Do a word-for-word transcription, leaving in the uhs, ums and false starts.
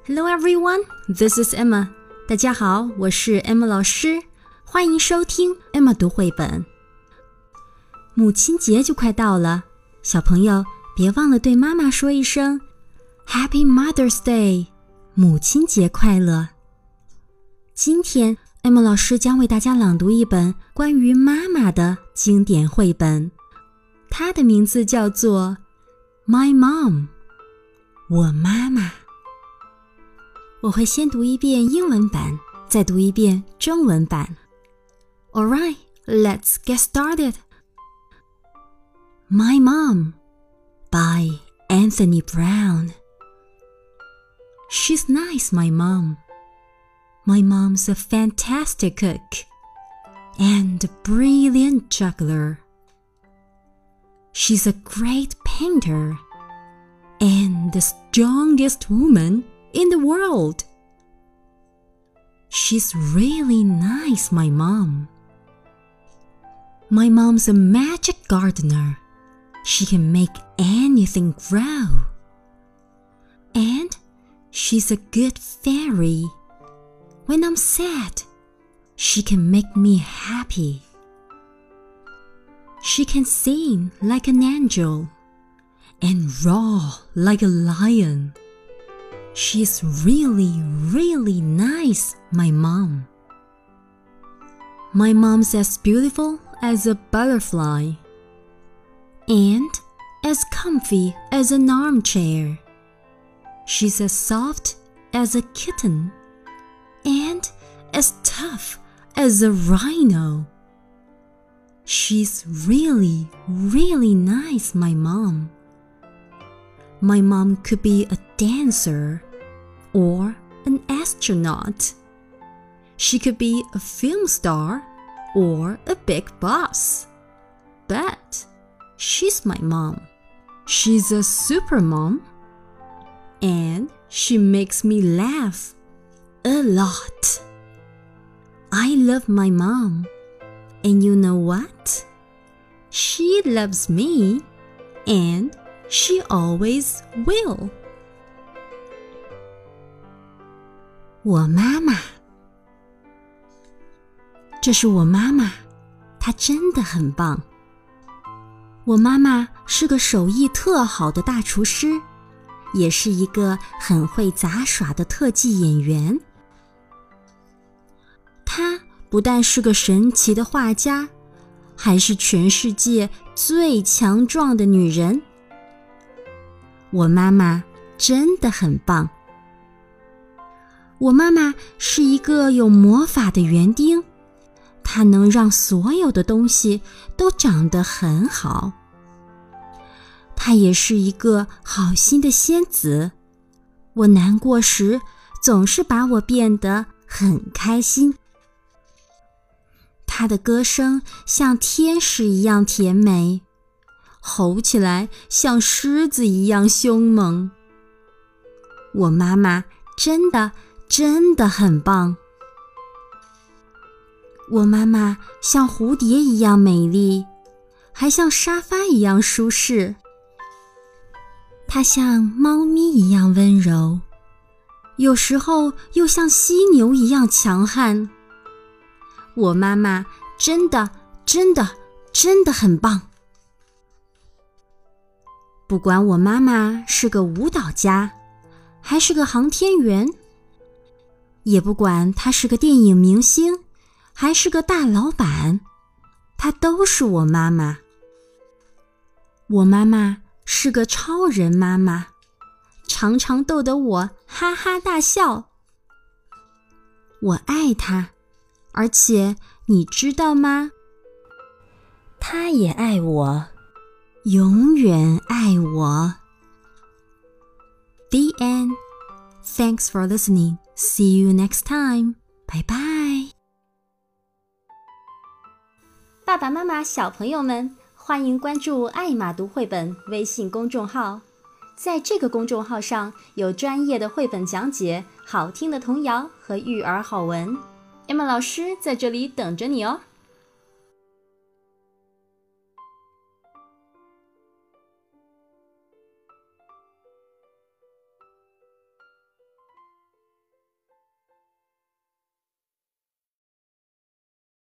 Hello everyone, this is Emma. 大家好，我是 Emma 老师，欢迎收听 Emma 读绘本。母亲节就快到了，小朋友别忘了对妈妈说一声 Happy Mother's Day， 母亲节快乐。今天 Emma 老师将为大家朗读一本关于妈妈的经典绘本，它的名字叫做 My Mom， 我妈妈。我会先读一遍英文版，再读一遍中文版。Alright, let's get started. My Mom by Anthony Brown. She's nice, my mom. My mom's a fantastic cook and a brilliant juggler. She's a great painter and the strongest woman in the world. She's really nice, my mom. My mom's a magic gardener. She can make anything grow. And she's a good fairy. When I'm sad, she can make me happy. She can sing like an angel and roar like a lion. She's really, really nice, my mom. My mom's as beautiful as a butterfly and as comfy as an armchair. She's as soft as a kitten and as tough as a rhino. She's really, really nice, my mom. My mom could be a dancer or an astronaut. She could be a film star or a big boss. But she's my mom. She's a super mom. And she makes me laugh a lot. I love my mom. And you know what? She loves me. And she always will. 我妈妈，这是我妈妈，她真的很棒。我妈妈是个手艺特好的大厨师，也是一个很会杂耍的特技演员。她不但是个神奇的画家，还是全世界最强壮的女人。我妈妈真的很棒。我妈妈是一个有魔法的园丁，她能让所有的东西都长得很好。她也是一个好心的仙子，我难过时总是把我变得很开心。她的歌声像天使一样甜美，吼起来像狮子一样凶猛。我妈妈真的真的很棒。我妈妈像蝴蝶一样美丽，还像沙发一样舒适。她像猫咪一样温柔，有时候又像犀牛一样强悍。我妈妈真的真的真的很棒。不管我妈妈是个舞蹈家，还是个航天员，也不管她是个电影明星，还是个大老板，她都是我妈妈。我妈妈是个超人妈妈，常常逗得我哈哈大笑。我爱她，而且你知道吗？她也爱我，永远爱我。The end. Thanks for listening. See you next time. Bye bye. 爸爸妈妈、小朋友们，欢迎关注艾玛读绘本微信公众号。在这个公众号上有专业的绘本讲解、好听的童谣和育儿好文。Emma 老师在这里等着你哦。